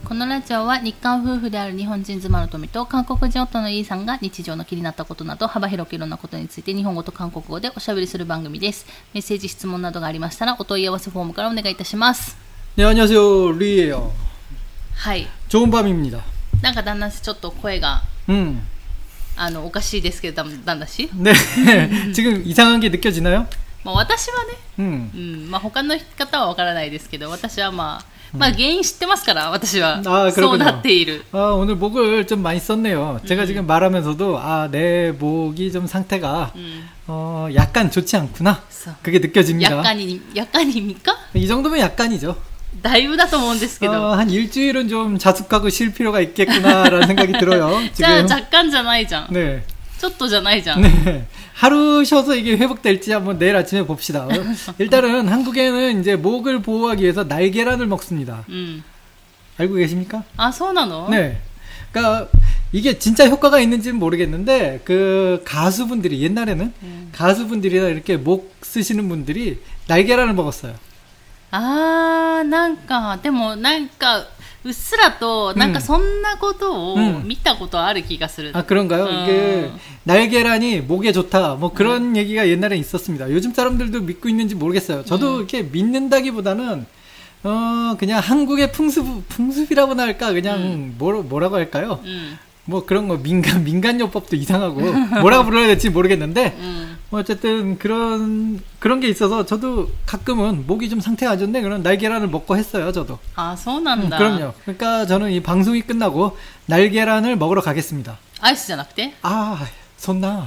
このラジオは日韓夫婦である日本人妻の富と韓国人夫のイーさんが日常の気になったことなど幅広くいろんなことについて日本語と韓国語でおしゃべりする番組です。メッセージ質問などがありましたらお問い合わせフォームからお願いいたします。 네 안녕하세요 리예요. はい。 좋은 밤입니다. なんか旦那氏ちょっと声がおかしいですけど旦那氏 네 지금 이상한 게 느껴지나요? まあ私はね、まあ他の方はわからないですけど私はまあ原因知ってますから私はそうなっている。 오늘 목을 좀 많이 썼네요. 제가 지금 말하면서도 내 목이 좀 상태가 약간 좋지 않구나. 그게 느껴집니다. 약간입니까? 이 정도면 약간이죠. だいぶだと思うんですけど 한 일주일은 좀 자숙하고 쉴 필요가 있겠구나라는 생각이 들어요. 지금 じゃあ若干じゃないじゃん. 네. ちょっとじゃないじゃん. 네. 하루 쉬어서 이게 회복될지 한번 내일 아침에 봅시다. 일단은 한국에는 이제 목을 보호하기 위해서 날계란을 먹습니다. 알고 계십니까? 아, そうなの? 네. 그러니까 이게 진짜 효과가 있는지는 모르겠는데 그 가수분들이 옛날에는 가수분들이나 이렇게 목 쓰시는 분들이 날계란을 먹었어요. なんかでもなんかうっすらとなんかそんなことを見たことある気がする. 그런가요? 이게 날계란이 목에 좋다. 뭐 그런 얘기가 옛날에 있었습니다. 요즘 사람들도 믿고 있는지 모르겠어요. 저도 이렇게 믿는다기보다는 그냥 한국의 풍습이라고나 할까? 그냥 뭐라고 할까요? 뭐 그런 거 민간요법도 이상하고 뭐라고 불러야 될지 모르겠는데 어쨌든 그런 게 있어서 저도 가끔은 목이 좀 상태가 안 좋네 그런 날계란을 먹고 했어요. 저도. 아, そうなんだ. 그럼요. 그러니까 저는 이 방송이 끝나고 날계란을 먹으러 가겠습니다. 아이스 じゃなくて? 손나.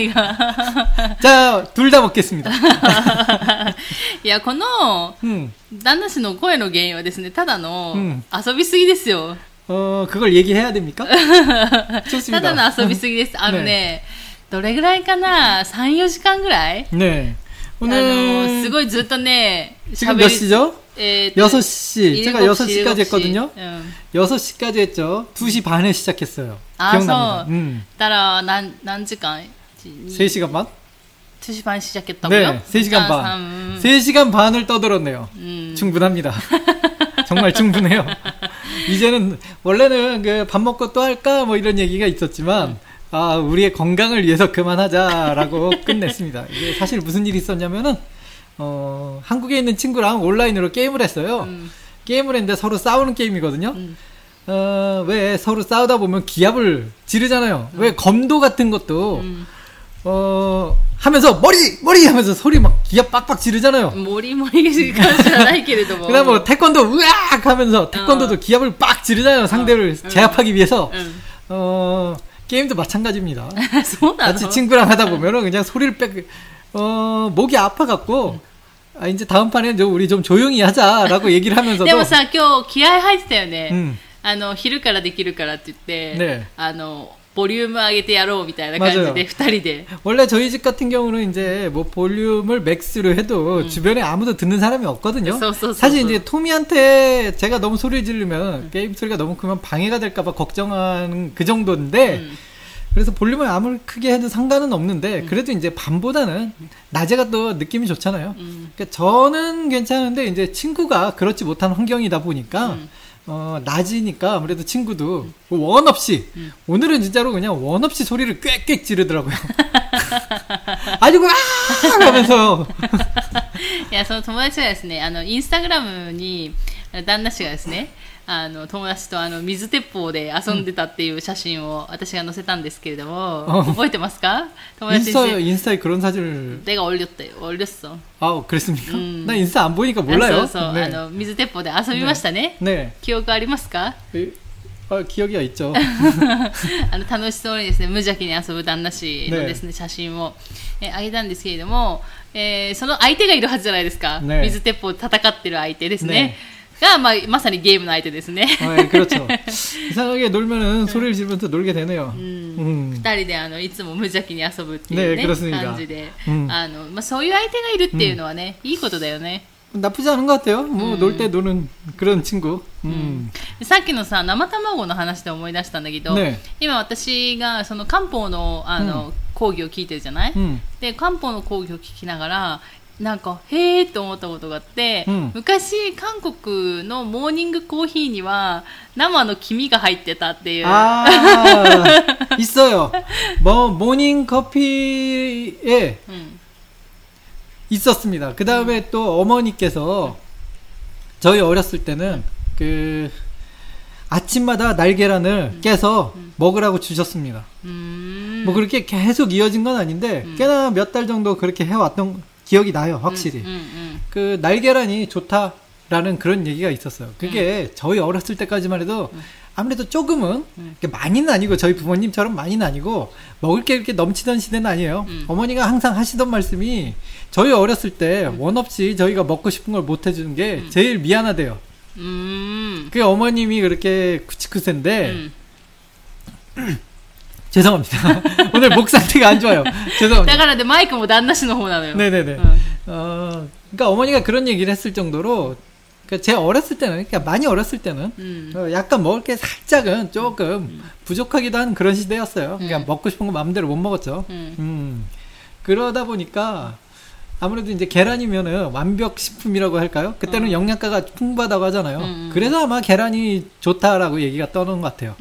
자, 둘 다 먹겠습니다. いや、この旦那氏の声の原因はですね、ただの遊びすぎですよ. 그걸 얘기해야 됩니까? 좋습니다. ただの遊びすぎです. ね、どれぐらいかな 3、4時間ぐらい 네. 오늘 すごいずっとね 지금 몇 시죠? 6시. 제가 6시까지 했거든요. 6시까지 했죠. 2시 반에 시작했어요. 기억납니다. だから何時間 3시간 반? 2시 반 시작했다고요? 네, 3시간 반. 3시간 반을 떠들었네요. 충분합니다. 정말 충분해요. 이제는 원래는 그 밥 먹고 또 할까 뭐 이런 얘기가 있었지만 우리의 건강을 위해서 그만하자라고 끝냈습니다. 이게 사실 무슨 일이 있었냐면은 한국에 있는 친구랑 온라인으로 게임을 했어요. 게임을 했는데 서로 싸우는 게임이거든요. 왜 서로 싸우다 보면 기합을 지르잖아요. 왜 검도 같은 것도 하면서 머리 하면서 소리 막 기합 빡빡 지르잖아요. 머리가 그다음 뭐 태권도 으악 하면서 태권도도 기합을 빡 지르잖아요. 상대를 제압하기 위해서. 게임도 마찬가지입니다. 같이 친구랑 하다 보면은 그냥 소리를 목이 아파갖고 이제 다음 판에 우리 좀 조용히 하자라고 얘기를 하면서도. でもさ、今日気合入ってたよね。昼からできるからって言って、 네. ボリューム上げてやろうみたいな感じで2人で 원래 저희 집 같은 경우는 이제 뭐 볼륨을 맥스로 해도 주변에 아무도 듣는 사람이 없거든요. 사실 이제 토미한테 제가 너무 소리를 지르면 게임 소리가 너무 크면 방해가 될까봐 걱정하는 그 정도인데 그래서 볼륨을 아무리 크게 해도 상관은 없는데 그래도 이제 밤보다는 낮에가 또 느낌이 좋잖아요. 그러니까 저는 괜찮은데 이제 친구가 그렇지 못한 환경이다 보니까 낮이니까 아무래도 친구도 원 없이 오늘은 진짜로 그냥 원 없이 소리를 꽥꽥 지르더라고요. 아이고 하면서 いやその友達がですねインスタグラムに旦那氏がですね友達と水鉄砲で遊んでたっていう写真を私が載せたんですけれども覚えてますか? 인스타에 그런 사진을 내가 올렸어. 그랬습니까? 나 인스타 안 보니까 몰라요. そう、水鉄砲で遊びましたね。 네. 記憶ありますか? 기억이 있죠. 楽しそうにですね無邪気に遊ぶ旦那氏のですね写真をあげたんですけれども、その相手がいるはずじゃないですか。水鉄砲で戦ってる相手ですね。がまさにゲームの相手ですね。 그렇죠. 이상하게 놀면은 소리를 지르면서 놀게 되네요. 二人でいつも無邪気に遊ぶっていうね感じで、そういう相手がいるっていうのはねいいことだよね。 나쁘지 않은 것 같아요. 뭐 놀 때 노는 그런 친구. さっきのさ生卵の話で思い出したんだけど、今私がその漢方の講義を聞いてるじゃない？で漢方の講義を聞きながらなんかへーって思ったことがあって、昔韓国のモーニングコーヒーには生の黄身が入ってたっていう。 있어요. 모닝 커피에 있었습니다. 그 다음에 또 어머니께서 저희 어렸을 때는 그 아침마다 날계란을 깨서 먹으라고 주셨습니다. 뭐 그렇게 계속 이어진 건 아닌데 꽤나 몇 달 정도 그렇게 해왔던 기억이 나요, 확실히. 그 날계란이 좋다라는 그런 얘기가 있었어요. 그게 저희 어렸을 때까지만 해도 아무래도 조금은 많이는 아니고 저희 부모님처럼 많이는 아니고 먹을 게 이렇게 넘치던 시대는 아니에요. 어머니가 항상 하시던 말씀이 저희 어렸을 때 원 없이 저희가 먹고 싶은 걸 못 해주는 게 제일 미안하대요. 그 어머님이 그렇게 구치쿠센데 죄송합니다. 오늘 목 상태가 안 좋아요. 죄송합니다. だからで 마이크 뭐旦那氏の方なのよ. 네네네. 그러니까 어머니가 그런 얘기를 했을 정도로 그러니까 제 어렸을 때는 그러니까 많이 어렸을 때는 약간 먹을 게 살짝은 조금 부족하기도 한 그런 시대였어요. 그러니까 먹고 싶은 거 마음대로 못 먹었죠. 그러다 보니까 아무래도 이제 계란이면은 완벽 식품이라고 할까요? 그때는 영양가가 풍부하다고 하잖아요. 그래서 아마 계란이 좋다라고 얘기가 떠오르는 것 같아요.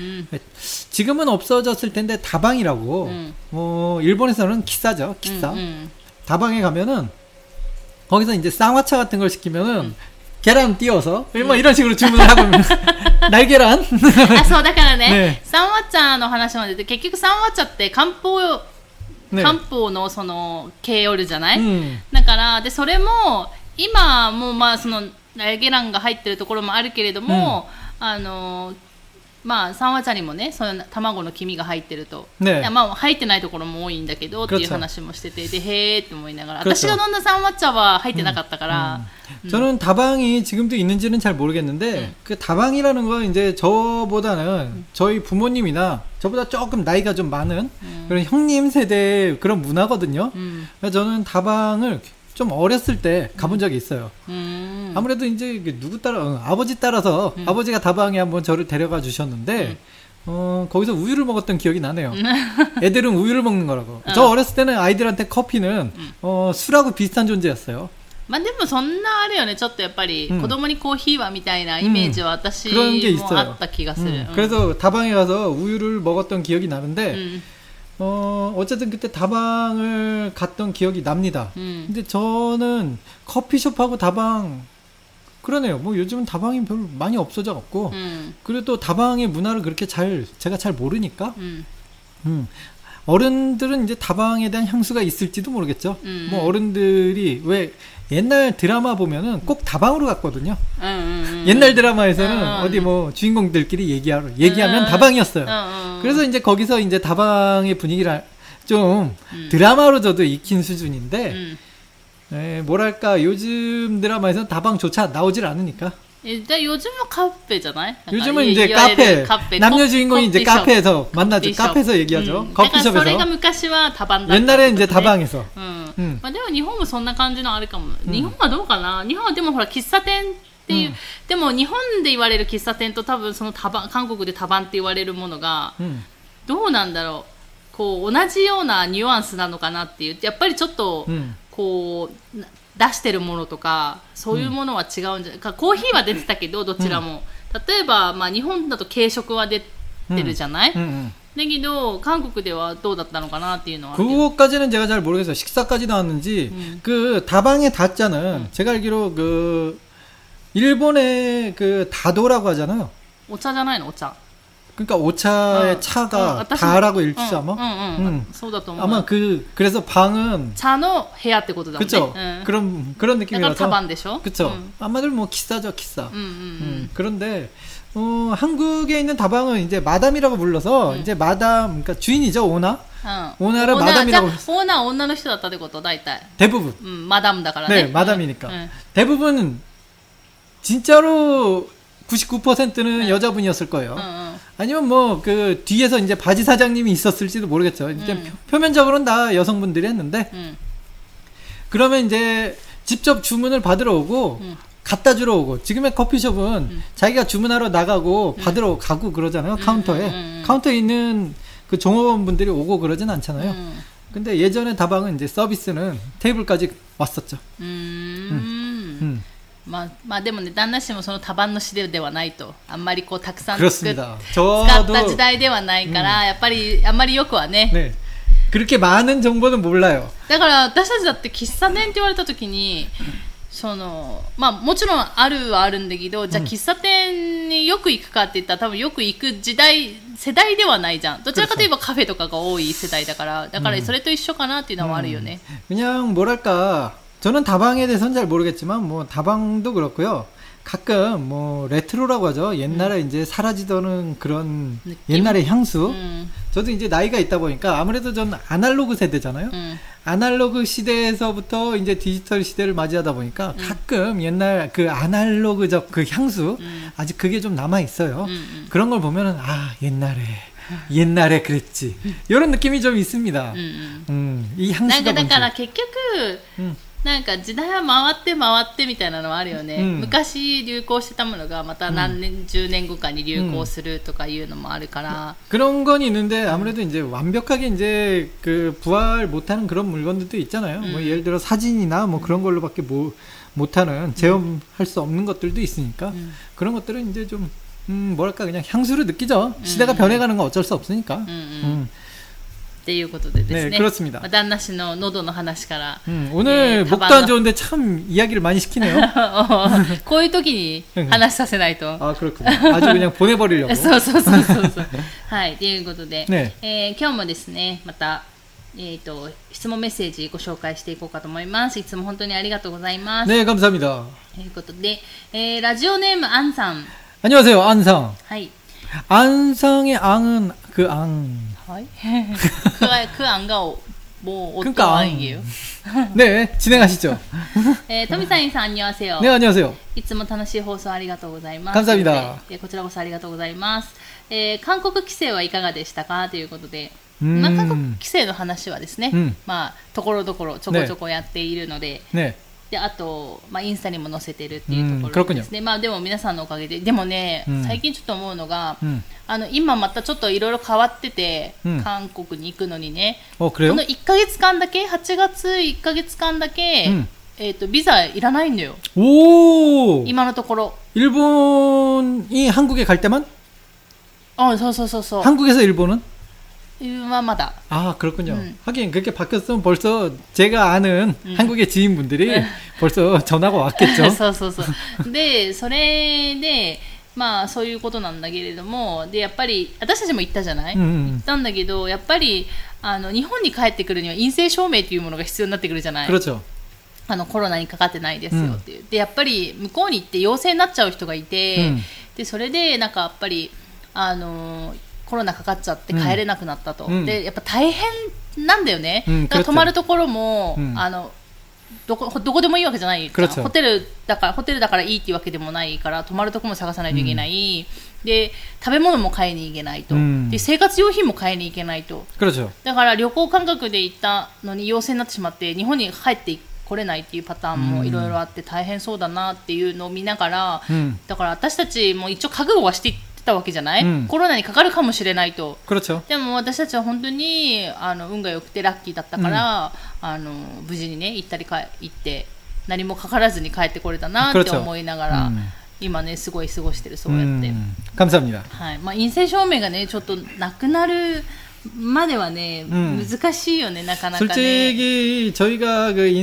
지금은 없어졌을 텐데 다방이라고 일본에서는 기싸죠. 기싸. 다방에 가면은 거기서 이제 쌍화차 같은 걸 시키면은 계란 띄워서 뭐 이런 식으로 주문을 하고 날계란. 아, そうだからね。쌍화차の話までで結局쌍화차って漢方のその系おるじゃない、だからでそれも今もまあそのナルゲランが入ってるところもあるけれども、まあ三和茶にもねその卵の黄身が入ってると、いやまあ入ってないところも多いんだけどっていう話もしててでへーって思いながら私が飲んだ三和茶は入ってなかったから。 저는 다방이 지금도 있는지는 잘 모르겠는데 그 다방이라는 건 이제 저보다는 저희 부모님이나 저보다 조금 나이가 좀 많은 그런 형님 세대의 그런 문화거든요. 그래서 저는 다방을 좀 어렸을 때 가본 적이 있어요. 아무래도 이제 누구 따라 아버지 따라서 아버지가 다방에 한번 저를 데려가 주셨는데 거기서 우유를 먹었던 기억이 나네요. 애들은 우유를 먹는 거라고. 저 어렸을 때는 아이들한테 커피는 술하고 비슷한 존재였어요. まあでもそんなあれよねちょっとやっぱり子供にコーヒーはみたいなイメージは私もあった気がする. 그래서 다방에 가서 우유를 먹었던 기억이 나는데 어쨌든 그때 다방을 갔던 기억이 납니다. 근데 저는 커피숍하고 다방 그러네요. 뭐 요즘은 다방이 별로 많이 없어져 갖고 그리고 또 다방의 문화를 그렇게 제가 잘 모르니까 어른들은 이제 다방에 대한 향수가 있을지도 모르겠죠. 뭐 어른들이 왜 옛날 드라마 보면은 꼭 다방으로 갔거든요. 옛날 드라마에서는 어디 뭐 주인공들끼리 얘기하면 다방이었어요. 그래서 이제 거기서 이제 다방의 분위기를 좀 드라마로 저도 익힌 수준인데, 뭐랄까 요즘 드라마에서는 다방조차 나오질 않으니까. 일단 요즘은 카페잖아요. 요즘은 이제 카페. 남녀 주인공이 이제 카페에서 만나죠. 카페에서 얘기하죠. 커피숍에서. 옛날에 이제 다방에서. まあでも日本もそんな感じのあるかも。日本はどうかな。日本はでもほら喫茶店っていう、でも日本で言われる喫茶店と多分その韓国でタバンって言われるものがどうなんだろう。こう同じようなニュアンスなのかなっていう。やっぱりちょっとこう。出してるものとかそういうものは違うんじゃないか、コーヒーは出てたけどどちらも、例えば、まあ、日本だと軽食は出てるじゃない、だけど韓国ではどうだったのかなっていうのは 그거까지는 제가 잘 모르겠어요. 식사까지 나왔는지 그 다방의 다자는 제가 알기로 그 일본의 그 다도라고 하잖아요. 오차じゃないの 오차. 그러니까 오차의 차가 다라고 읽지 아마? 아마 그래서 방은 차의 部屋ってことだもんね. 그쵸. 그런 느낌이라서. 다방でしょ? 그쵸. 아마들 뭐 기싸죠, 기싸. 그런데 한국에 있는 다방은 이제 마담이라고 불러서 이제 마담 그러니까 주인이죠, 오나? 오나를 마담이라고. 오나 女の人だったってこと 大体. 대부분. 마담だからね. 네, 마담이니까. 대부분 진짜로 99%는 여자분이었을 거예요. 아니면 뭐 그 뒤에서 이제 바지 사장님이 있었을지도 모르겠죠. 이제 표면적으로는 다 여성분들이 했는데 그러면 이제 직접 주문을 받으러 오고 갖다 주러 오고 지금의 커피숍은 자기가 주문하러 나가고 받으러 가고 그러잖아요. 카운터에 있는 그 종업원분들이 오고 그러진 않잖아요. 근데 예전에 다방은 이제 서비스는 테이블까지 왔었죠. まあでもね、旦那氏もその多番の指導ではないと、あんまりこうたくさん使った時代ではないから、やっぱりあんまりよくはね。 ね、그렇게 많은 정보는 몰라요. だから私たちだって喫茶店って言われた時に、まあもちろんあるはあるんだけど、じゃあ喫茶店によく行くかって言ったら多分よく行く世代ではないじゃん。どちらかといえばカフェとかが多い世代だから、だからそれと一緒かなっていうのはあるよね。 그냥 뭐랄까, 저는 다방에 대해서는 잘 모르겠지만 뭐 다방도 그렇고요. 가끔 뭐 레트로라고 하죠. 옛날에 이제 사라지던 그런 느낌? 옛날의 향수. 저도 이제 나이가 있다 보니까 아무래도 전 아날로그 세대잖아요. 아날로그 시대에서부터 이제 디지털 시대를 맞이하다 보니까 가끔 옛날 그 아날로그적 그 향수 아직 그게 좀 남아 있어요. 그런 걸 보면은 아, 옛날에 그랬지. 이런 느낌이 좀 있습니다. 이 향수가 뭔지. だから結局なんか時代は回ってみたいなのはあるよね、昔流行してたものがまた何年、10年後かに流行するとかいうのもあるから、 그런 건 있는데 아무래도 이제 완벽하게 이제 그 부활 못하는 그런 물건들도 있잖아요. 뭐 예를 들어 사진이나 뭐 그런 걸로밖에 못하는 체험할 수 없는 것들도 있으니까 그런 것들은 이제 좀 뭐랄까 그냥 향수를 느끼죠. 시대가 변해가는 건 어쩔 수 없으니까. っていうことでですね。 네, 그렇습니다. 旦那氏の喉の話から。 오늘 목도 안 좋은데 참 이야기를 많이 시키네요. こういう時に話させないと。 아, 그렇군요. 아주 그냥 보내버리려고. そう。はい、ということで、今日もですね、また、質問メッセージご紹介していこうかと思います。いつも本当にありがとうございます。 네, 감사합니다. ということで、ラジオネームアンさん。 안녕하세요, 안상. はい。 안상의 앙은 그 앙. はい。그 앙가 뭐 어떤 앙이에요? 네, 진행하시죠. 토미사인さん 안녕하세요. 네, 안녕하세요. いつも楽しい放送ありがとうございます。 감사합니다. こちらこそありがとうございます。韓国規制はいかがでしたかということで、まあ、韓国規制の話はですね、まあところどころちょこちょこやっているので。 ね。 であと、まあ、インスタにも載せてるっていうところですね。まあ、でも皆さんのおかげで、でもね、最近ちょっと思うのが、今またちょっといろいろ変わってて、韓国に行くのにね、この1ヶ月間だけ、8月1ヶ月間だけ、ビザいらないんだよ。今のところ。 일본이 한국에 갈 때만? そう。 한국에서 일본은? 마다. 아, 그렇군요. 하긴 그렇게 바뀌었으면 벌써 제가 아는 한국의 지인분들이 벌써 전화가 왔겠죠. そう。で、それで、まあそういうことなんだけれども、でやっぱり私たちも行ったじゃない？行ったんだけど、やっぱり日本に帰ってくるには陰性証明というものが必要になってくるじゃない？ 그렇죠. コロナにかかってないですよっていう。でやっぱり向こうに行って陽性になっちゃう人がいて、でそれでなんかやっぱりコロナかかっちゃって帰れなくなったと、でやっぱ大変なんだよね、だから泊まるところも、どこでもいいわけじゃないじゃん、ホテルだからいいっていうわけでもないから泊まるところも探さないといけない、で食べ物も買いに行けないと、で生活用品も買いに行けないと、だから旅行感覚で行ったのに陽性になってしまって日本に帰って来れないっていうパターンもいろいろあって大変そうだなっていうのを見ながら、だから私たちも一応覚悟はしてたわけじゃない、コロナにかかるかもしれないと。でも私たちは本当に運が良くてラッキーだったから、無事にね行って何もかからずに帰ってこれたなって思いながら、今ねすごい過ごしてる。そうやって。 감사합니다。 はい。まあ陰性証明がねちょっとなくなるまではね、難しいよね、なかなかね。 솔직히 저희가 그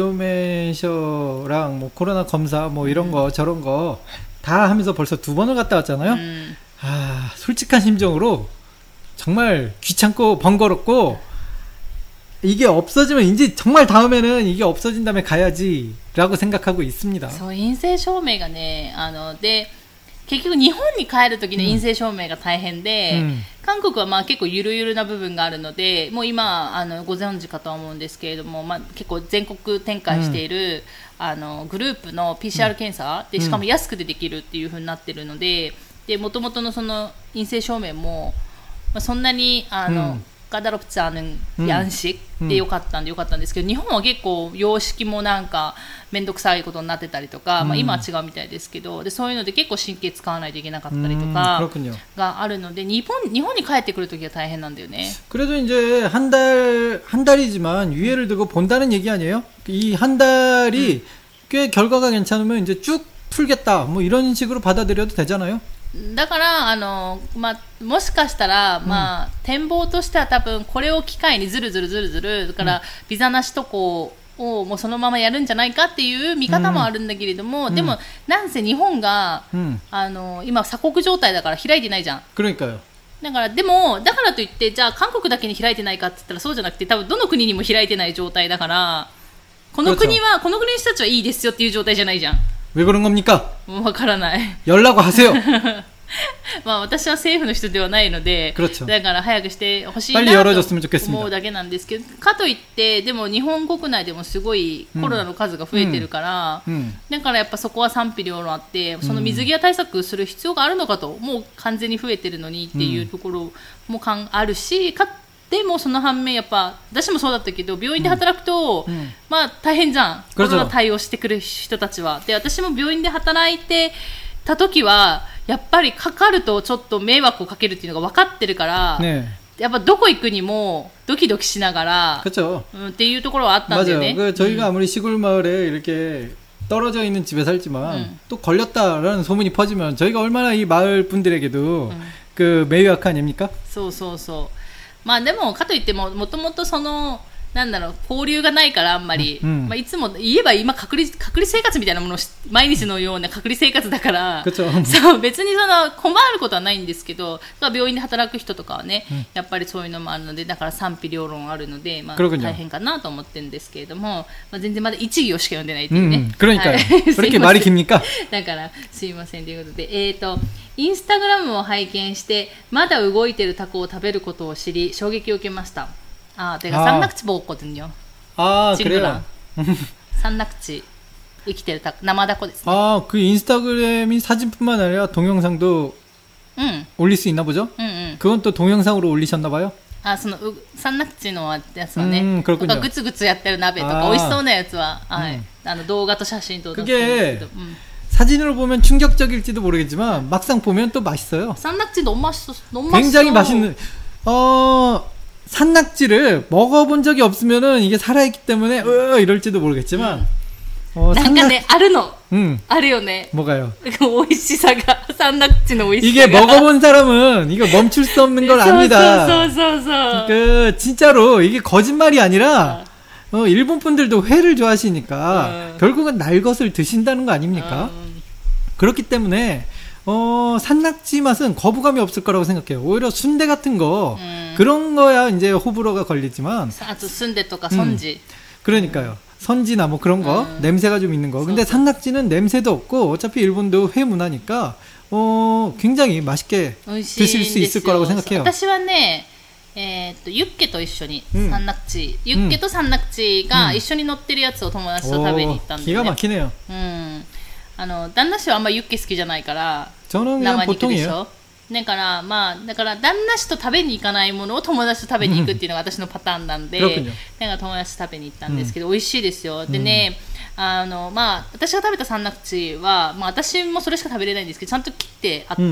인쇄証明書랑 뭐 코로나 검사 뭐 이런 거 저런 거 다 하면서 벌써 2번을 갔다 왔잖아요. 아, 솔직한 심정으로 정말 귀찮고 번거롭고 이게 없어지면 이제 정말 다음에는 이게 없어진다면 가야지라고 생각하고 있습니다. そう、陰性証明がね、で結局日本に帰るときの陰性証明が大変で、韓国はまあ結構ゆるゆるな部分があるので、もう今ご存知かとは思うんですけれども、まあ、結構全国展開している、グループの PCR 検査でしかも安くでできるっていう風になってるので、で元々のその陰性証明も、まあ、そんなにが 까다롭지 않은 양식でよかったんですけど、日本は結構洋式もなんかめんどくさいことになってたりとか、今は違うみたいですけど、でそういうので結構神経使わないといけなかったりとかがあるので、日本に帰ってくるときは大変なんだよね。 그래도 이제 한 달이지만 유예를 두고 본다는 얘기 아니에요? 이 한 달이 꽤 결과가 괜찮으면 이제 쭉 풀겠다 뭐 이런 식으로 받아들여도 되잖아요. だからもしかしたら、展望としては多分これを機会にずるだからビザなし渡航をもうそのままやるんじゃないかっていう見方もあるんだけれども、でもなんせ日本が、今鎖国状態だから開いてないじゃん。 그러니까요。 だからといってじゃあ韓国だけに開いてないかって言ったらそうじゃなくて、多分どの国にも開いてない状態だから、この国の人たちはいいですよっていう状態じゃないじゃん。 왜 그런 겁니까? わからない。 연락하세요. 私は政府の人ではないので、だから早くしてほしいなと思うだけなんですけど、かといってでも日本国内でもすごいコロナの数が増えてるから、だからやっぱそこは賛否両論あって、その水際対策する必要があるのかと、もう完全に増えてるのにっていうところもあるし、でもその反面やっぱ私もそうだったけど、病院で働くと、大変じゃん、コロナ対応してくる人たちは。で私も病院で働いてた時はやっぱりかかるとちょっと迷惑をかけるっていうのが分かってるから、やっぱどこ行くにもドキドキしながら、っていうところはあったんだよね。 저희가 아무리 시골 마을에 이렇게 떨어져 있는 집에 살지만 또 걸렸다라는 소문이 퍼지면 저희가 얼마나 이 마을 분들에게도 그 매유학 아닙니까? そうでもかといってもともとそのなんだろう交流がないからあんまり、いつも言えば今隔離生活みたいなものを毎日のような隔離生活だから、そう別にその困ることはないんですけど、病院で働く人とかはね、やっぱりそういうのもあるので、だから賛否両論あるので、大変かなと思ってるんですけれども、全然まだ1行しか読んでないっていうね。 그러니까요。그렇게 말이 깁니까？ だからすいませんということで、インスタグラムを拝見してまだ動いてるタコを食べることを知り衝撃を受けました。내가 산낙지 먹었거든요. 그래요? 산낙지 이키테르 남아다코ですね. 그 인스타그램이 사진뿐만 아니라 동영상도 올릴 수 있나 보죠? 그건 또 동영상으로 올리셨나 봐요? その산낙지のやつはね、 그렇군요. グツグツやってる鍋とか美味しそうなやつは、動画と写真と出してるんですけど。 사진으로 보면 충격적일지도 모르겠지만 막상 보면 또 맛있어요. 산낙지 너무 맛있어. 굉장히 맛있는. 산낙지를 먹어본 적이 없으면은 이게 살아있기 때문에 이럴지도 모르겠지만. 난간에 아르노. 아르요네. 뭐가요? 그 오이시사가 산낙지의 오이시사가. 이게 먹어본 사람은 이거 멈출 수 없는 걸 압니다. 그 진짜로 이게 거짓말이 아니라. 일본 분들도 회를 좋아하시니까 결국은 날 것을 드신다는 거 아닙니까? 그렇기 때문에 산낙지 맛은 거부감이 없을 거라고 생각해요. 오히려 순대 같은 거 그런 거야 이제 호불호가 걸리지만 순대또가 선지 그러니까요. 선지나 뭐 그런 거 냄새가 좀 있는 거. 근데 산낙지는 냄새도 없고 어차피 일본도 회 문화니까 굉장히 맛있게 드실 수 있을 거라고 생각해요. 私はねユッケと一緒にサンナクチ、ユッケとサンナクチが一緒に乗ってるやつを友達と食べに行ったんで、ね、 기가 막히네요. 旦那氏はあんまユッケ好きじゃないから生肉でしょ。だから旦那氏と食べに行かないものを友達と食べに行くっていうのが私のパターンなんで、だから友達と食べに行ったんですけど、美味しいですよ。でね、私が食べたサンナクチは、私もそれしか食べれないんですけど、ちゃんと切ってあって、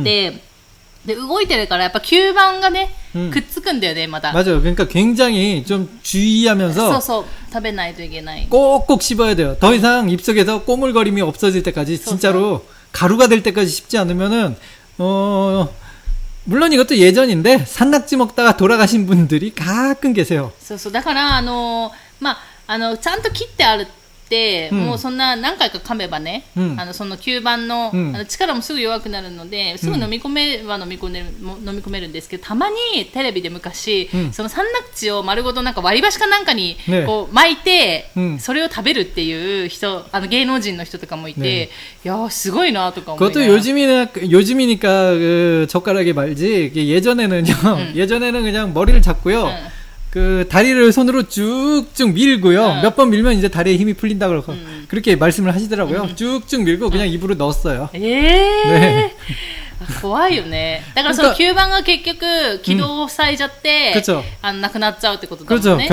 で動いてるからやっぱ吸盤がね、くっつくんだよねまた。 맞아요. 그러니까 굉장히 좀 주의하면서 そう食べないといけない. 꼭꼭 씹어야 돼요. 더 이상 입속에서 꼬물거림이 없어질 때까지 진짜로 가루가 될 때까지 씹지 않으면은 물론 이것도 예전인데 산낙지 먹다가 돌아가신 분들이 가끔 계세요. だからちゃんと切ってある。もうそんな何回か噛めばね、その吸盤の、力もすぐ弱くなるので、すぐ飲み込めるんですけど、たまにテレビで昔、そのサンナクチを丸ごとなんか割り箸かなんかにこう巻いて、それを食べるっていう人、芸能人の人とかもいて、いやすごいなとか思いながら。 그것도 요즘이니까 그 젓가락에 말지. 예전에는 그냥 머리를 잡고요. 그 다리를 손으로 쭉쭉 밀고요. 몇 번 밀면 이제 다리에 힘이 풀린다 그러고 그렇게 말씀을 하시더라고요. 쭉쭉 밀고 그냥 입으로 넣었어요. 네. 怖いよね。だからその吸盤が結局軌道を塞いじゃって、なくなっちゃうってことだもんね。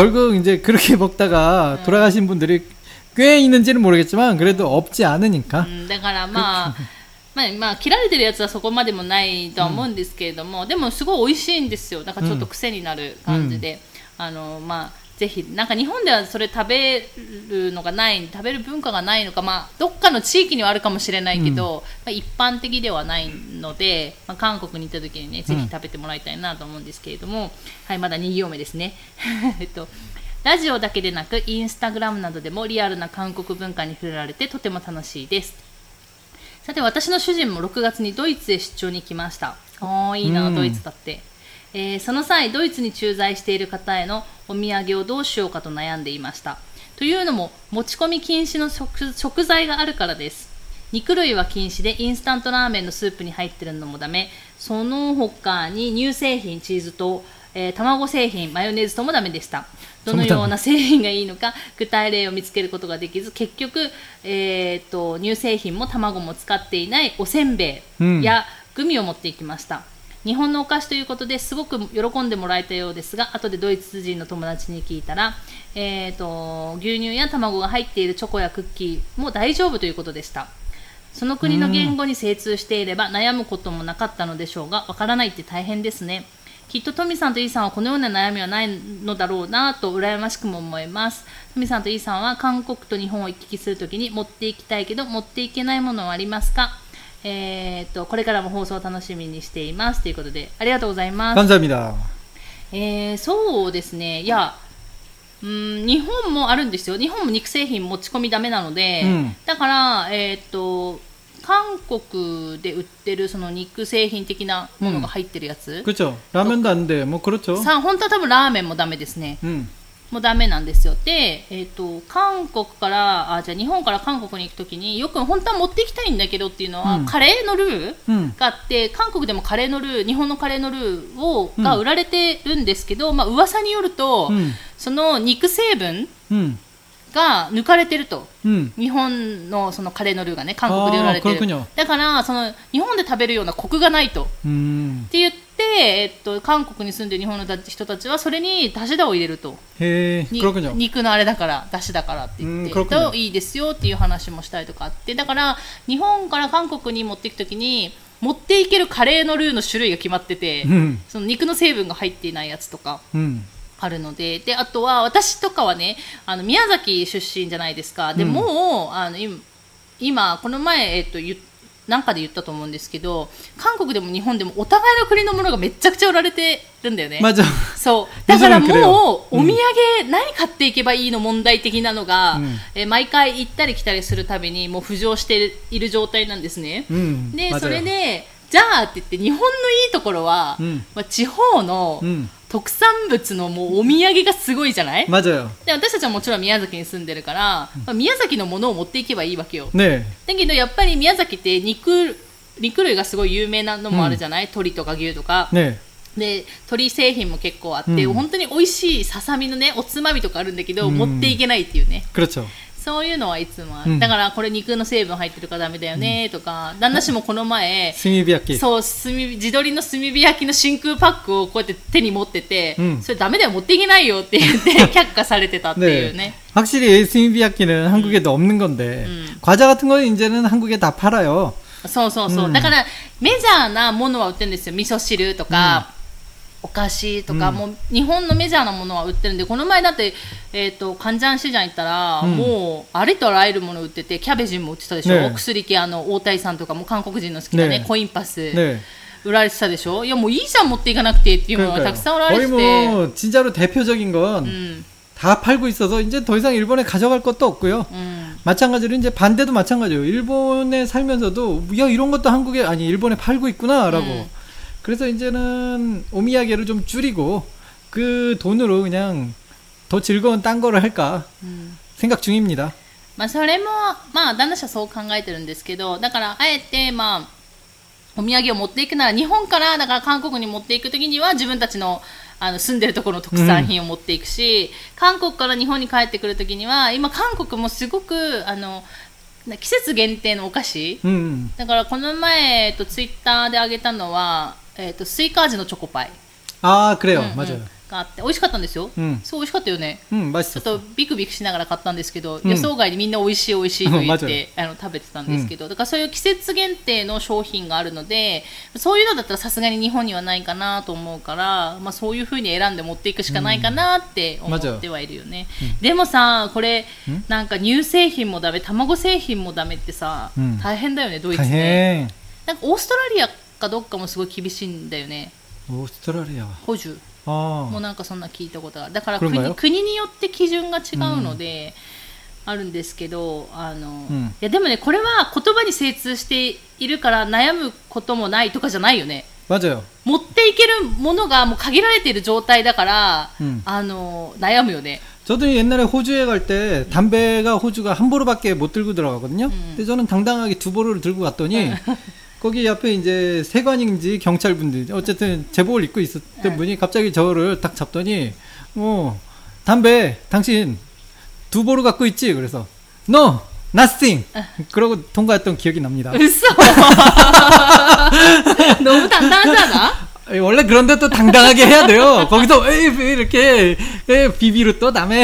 결국이제그렇게먹다가 돌아가신 분들이 꽤 있는지는 모르겠지만 그래도 없지 않으니까. だからまあ切られてるやつはそこまでもないとは思うんですけれども、でもすごい美味しいんですよ。だからちょっと癖になる感じで、ぜひなんか日本ではそれ食べるのがない食べる文化がないのか、どっかの地域にはあるかもしれないけど、一般的ではないので、韓国に行った時にねぜひ食べてもらいたいなと思うんですけれども、はい、まだ2行目ですねラジオだけでなくインスタグラムなどでもリアルな韓国文化に触れられてとても楽しいです。さて私の主人も6月にドイツへ出張に来ました。いいな、ドイツだって。その際ドイツに駐在している方へのお土産をどうしようかと悩んでいました。というのも持ち込み禁止の食材があるからです。肉類は禁止でインスタントラーメンのスープに入っているのもダメ、その他に乳製品チーズと、卵製品マヨネーズともダメでした。どのような製品がいいのか具体例を見つけることができず、結局、乳製品も卵も使っていないおせんべいやグミを持っていきました。日本のお菓子ということですごく喜んでもらえたようですが、後でドイツ人の友達に聞いたら、牛乳や卵が入っているチョコやクッキーも大丈夫ということでした。その国の言語に精通していれば悩むこともなかったのでしょうが、わからないって大変ですね。きっとトミさんとイーさんはこのような悩みはないのだろうなと羨ましくも思います。トミさんとイーさんは韓国と日本を行き来するときに持っていきたいけど持っていけないものはありますか？これからも放送を楽しみにしていますということで、ありがとうございます。 감사합니다。 そうですね。いや、日本もあるんですよ。日本も肉製品持ち込みダメなので、だから韓国で売ってるその肉製品的なものが入ってるやつ。 그렇죠。ラーメンだんで、もう그렇죠。 本当は多分ラーメンもダメですね。もうダメなんですよ。で、韓国からじゃあ日本から韓国に行くときによく本当は持っていきたいんだけどっていうのは、カレーのルーがあって、韓国でもカレーのルー、日本のカレーのルーが売られてるんですけど、噂によると、その肉成分が抜かれてると、日本のそのカレーのルーがね韓国で売られてる。だからその日本で食べるようなコクがないとって言って、韓国に住んでる日本の人たちはそれにだしだを入れると。肉のあれだからだしだからって言ってといいですよっていう話もしたりとかあって、だから日本から韓国に持っていくときに持っていけるカレーのルーの種類が決まってて、その肉の成分が入っていないやつとか、あるので、あとは私とかはね宮崎出身じゃないですか。でも今この前なんかで言ったと思うんですけど、韓国でも日本でもお互いの国のものがめちゃくちゃ売られてるんだよね。そうだからもうお土産何買っていけばいいの問題的なのが、毎回行ったり来たりするたびにもう浮上している状態なんですね。でそれでじゃあって言って日本のいいところは、地方の特産物のもうお土産がすごいじゃない？ 맞아요。 で私たちはもちろん宮崎に住んでるから、宮崎のものを持っていけばいいわけよ。 ね、 だけどやっぱり宮崎って肉類がすごい有名なのもあるじゃない？鶏とか牛とか。ね。で鶏製品も結構あって、本当に美味しいささみのねおつまみとかあるんだけど、持っていけないっていうね。 그렇죠。 そういうのはいつもある。だからこれ肉の成分入ってるからダメだよねとか、旦那氏もこの前炭火焼き、 そう地鶏の炭火焼きの真空パックをこうやって手に持ってて、それダメだよ持っていけないよって言って却下されてたっていうね。 확실히炭火焼き는 한국에도 없는 건데, 과자 같은 거 이제는 한국에 다 팔아요。 そうそうそう。だからメジャーなものは売ってるんですよ。味噌汁とか。お菓子とか、もう日本のメジャーなものは売ってるんで、この前だって、カンジャン市場行ったら、もうありとあらゆるもの売ってて、キャベジンも売ってたでしょ、ね、薬系大谷さんとかも韓国人の好きなね、コインパス、売られてたでしょ。いやもういいじゃん持っていかなくてっていうものがたくさん売られてて、 も진짜로 대표적인 건 다 팔고 있어서 이제 더 이상 일본에 가져갈 것도 없고요. 마찬가지로 이제 반대도 마찬가지예요. 일본에 살면서도 야 이런 것도 한국에 아니 일본에 팔고 있구나라고. 그래서 이제는 오미야게를 좀 줄이고 그 돈으로 그냥 더 즐거운 딴 거를 할까 생각 중입니다. それも旦那氏はそう考えてるんですけど、だからあえてお土産を持っていくなら日本からだから韓国に持っていくときには自分たちの住んでるところの特産品を持っていくし、韓国から日本に帰ってくるときには今韓国もすごく季節限定のお菓子、だからこの前、ツイッターであげたのは、スイカ味のチョコパイ。 ああ、くれよ、맞아요。 があって美味しかったんですよ。そう美味しかったよね。ちょっとビクビクしながら買ったんですけど、予想外にみんな美味しい美味しいと言って食べてたんですけど、だからそういう季節限定の商品があるので、そういうのだったらさすがに日本にはないかなと思うから、まあそういう風に選んで持っていくしかないかなって思ってはいるよね。でもさ、これなんか乳製品もダメ、卵製品もダメってさ、大変だよね、ドイツね。なんかオーストラリアかどっかもすごい厳しいんだよね。 オーストラリア補充もうなんかそんな聞いたことがある。だから国によって基準が違うので、あるんですけど、いやでもね、これは言葉に精通しているから悩むこともないとかじゃないよね。 맞아요。 持っていけるものがもう限られている状態だから、悩むよね。 저도 옛날에 호주에 갈 때 담배가 호주가 한 보루밖에 못 들고 들어가거든요. 근데 저는 당당하게 두 보루를 들고 갔더니 거기 옆에 이제 세관인지 경찰분들 어쨌든 제복을 입고 있었던 분이 갑자기 저를 딱 잡더니 담배 당신 두 보루 갖고 있지? 그래서 No, nothing. 그러고 통과했던 기억이 납니다. 웃어. 너무 당당하잖아. 원래 그런데 또 당당하게 해야 돼요. 거기서 이렇게 비비로 또 남의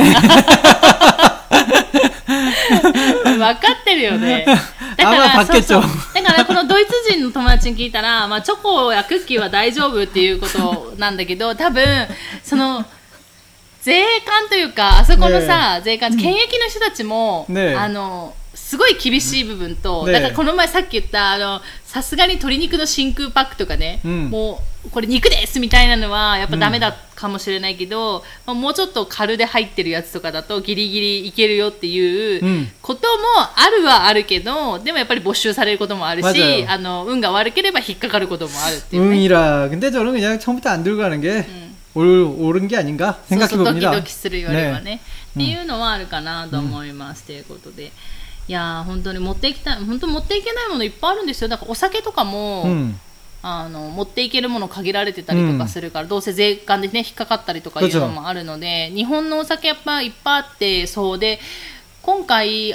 分かってるよね。だからこのドイツ人の友達に聞いたら、まあ、チョコやクッキーは大丈夫っていうことなんだけど、多分その税関というか、あそこのさ、税関、検疫の人たちも、すごい厳しい部分と、だからこの前さっき言ったさすがに鶏肉の真空パックとかね、もうこれ肉ですみたいなのはやっぱダメだかもしれないけど、もうちょっと軽で入ってるやつとかだとギリギリいけるよっていうこともあるはあるけど、でもやっぱり没収されることもあるし、運が悪ければ引っかかることもあるっていうね。 근데 저는 그냥 처음부터 안 들고 가는 게 옳은 게 아닌가 생각해 봅니다. ドキドキするよりはね、っていうのはあるかなと思いますということで。いや本当に持っていきたい、本当持っていけないものいっぱいあるんですよ。だからお酒とかも、持っていけるもの限られてたりとかするから、どうせ税関でね引っかかったりとかいうのもあるので、日本のお酒やっぱいっぱいあって、そうで今回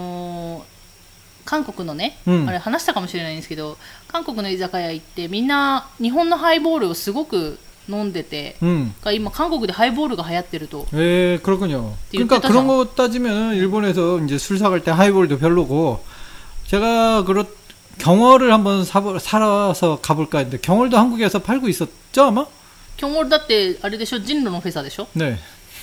韓国のね、あれ話したかもしれないんですけど、韓国の居酒屋行ってみんな日本のハイボールをすごく飲んでて、今韓国でハイボールが流行ってると。 그렇군요. 그러니까 그런 거 따지면 일본에서 이제 술 사갈 때 하이볼도 별로고, 제가 경월을 한번 사서 가볼까 했는데 경월도 한국에서 팔고 있었죠 아마? 경월 だってあれでしょ、진로の 회사 でしょ? 네.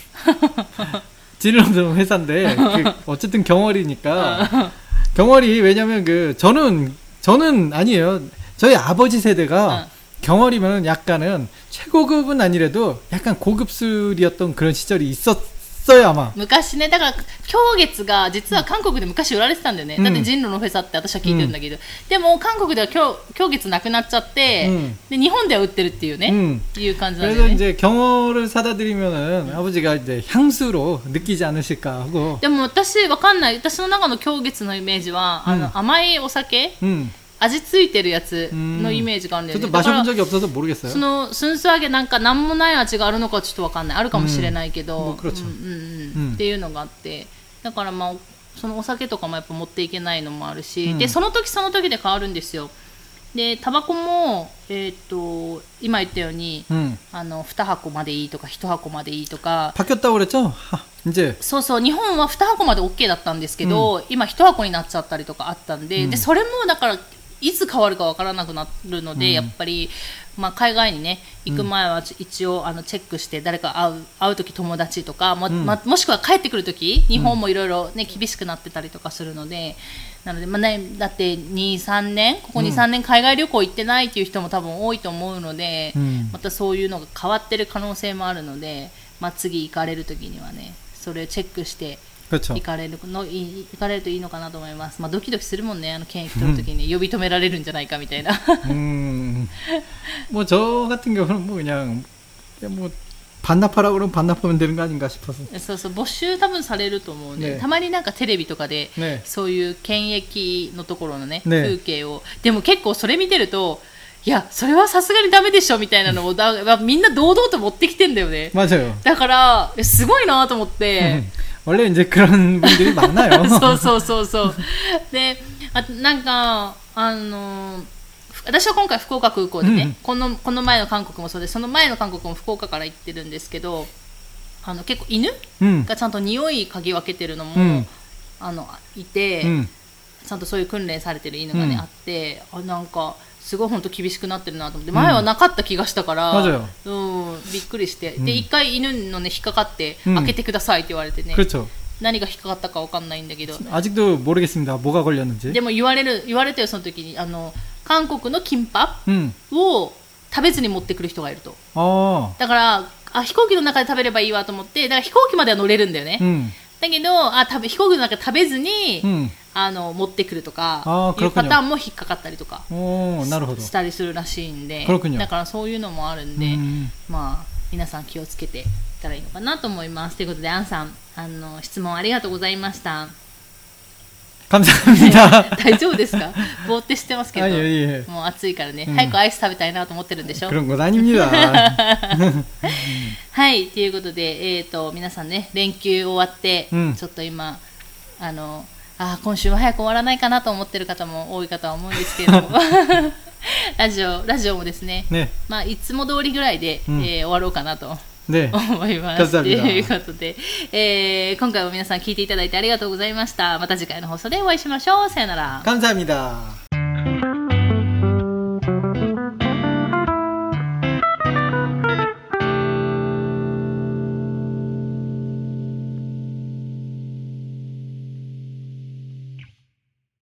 진로 회사인데 어쨌든 경월이니까 경월이 왜냐면 저는 아니에요. 저희 아버지 세대가 경월이면 약간은 최고급은 아니래도 약간 고급 술이었던 그런 시절이 있었어요 아마. 昔ね、だから狂月が実は韓国で昔売られてたんだよね。だって진로のフェサって私は聞いてるんだけど、でも韓国では狂月なくなっちゃって、で日本では売ってるっていうね、いう感じなんだよね。 그래서 이제 경월을 사다 드리면은 아버지가 이제 향수로 느끼지 않으실까 하고. でも私わかんない。私の中の狂月のイメージは甘いお酒。味ついてるやつのイメージがあるんだよね。 저도마셔본적이없어서모르겠어요。 そのスンス揚げなんか何もない味があるのかちょっとわかんない。あるかもしれないけど、っていうのがあって、だからまあそのお酒とかもやっぱ持っていけないのもあるし、でその時その時で変わるんですよ。でタバコも今言ったように、2箱までいいとか1箱までいいとか。 바뀌었다고그랬죠？이제 そうそう、日本は2箱まで OK だったんですけど、今1箱になっちゃったりとかあったんで、でそれもだからいつ変わるかわからなくなるので、やっぱり、まあ、海外にね行く前は一応チェックして、誰か会う時友達とか もしくは帰ってくる時、日本もいろいろね厳しくなってたりとかするので、なので、まあね、だって2,3年ここ 2,3 年海外旅行行ってないっていう人も多分多いと思うので、またそういうのが変わってる可能性もあるので、まあ、次行かれる時にはねそれをチェックして行かれるといいのかなと思います。まあ、ドキドキするもんね、検疫取るときに、呼び止められるんじゃないかみたいな。 뭐 저 같은 경우는 뭐 그냥 뭐 반납하라고 그러면 반납하면 되는 거 아닌가 싶어서. そうそう、没収多分されると思うね。たまになんかテレビとかで、そういう検疫のところのね風景を、でも結構それ見てると、いやそれはさすがにダメでしょみたいなのをみんな堂々と持ってきてんだよね。 맞아요。 だからすごいなと思って。 원래 이제 그런 분들이 많아요. そうそうそうそう。で、なんか私は今回福岡空港でね、この前の韓国もそうで、その前の韓国も福岡から行ってるんですけど、結構犬がちゃんと匂い嗅ぎ分けてるのも、いて、ちゃんとそういう訓練されてる犬がね、あって、なんかすごい本当厳しくなってるなと思って、前はなかった気がしたから、びっくりして、で一回犬のね引っかかって開けてくださいって言われてね。何が引っかかったかわかんないんだけど。 아직도 모르겠습니다. 뭐가 걸렸는지. でも言われてよその時に韓国のキンパを食べずに持ってくる人がいると。だから飛行機の中で食べればいいわと思って、だから飛行機までは乗れるんだよね。だけど飛行機の中で食べずに、持ってくるとかいうパターンも引っかかったりとかしたりするらしいんで、だからそういうのもあるんで、まあ皆さん気をつけていったらいいのかなと思います。ということでアンさん質問ありがとうございました。 감사합니다. 大丈夫ですか？ぼーってしてますけど、もう暑いからね、早くアイス食べたいなと思ってるんでしょ。 그런 건 아닙니다. はい、ということで、皆さんね、連休終わって、ちょっと今今週は早く終わらないかなと思ってる方も多いかとは思うんですけれどもラジオもですね、まあいつも通りぐらいで、終わろうかなと。思います。ということで、今回も皆さん聞いていただいてありがとうございました。また次回の放送でお会いしましょう。さよなら。 감사합니다。